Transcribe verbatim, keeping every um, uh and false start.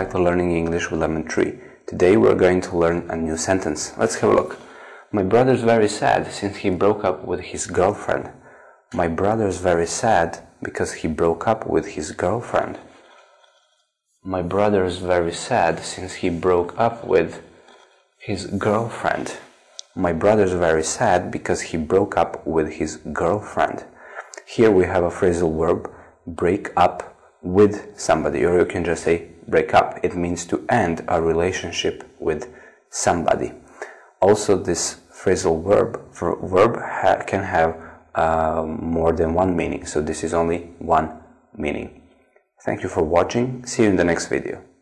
back to Learning English with Lemon Tree. Today we're going to learn a new sentence. Let's have a look. My brother's very sad since he broke up with his girlfriend. My brother's very sad because he broke up with his girlfriend. My brother's very sad since he broke up with his girlfriend. My brother's very sad because he broke up with his girlfriend. Here we have a phrasal verb, break up with somebody, or you can just say break up. It means to end a relationship with somebody. Also, this phrasal verb for verb ha can have uh, more than one meaning, so this is only one meaning. Thank you for watching. See you in the next video.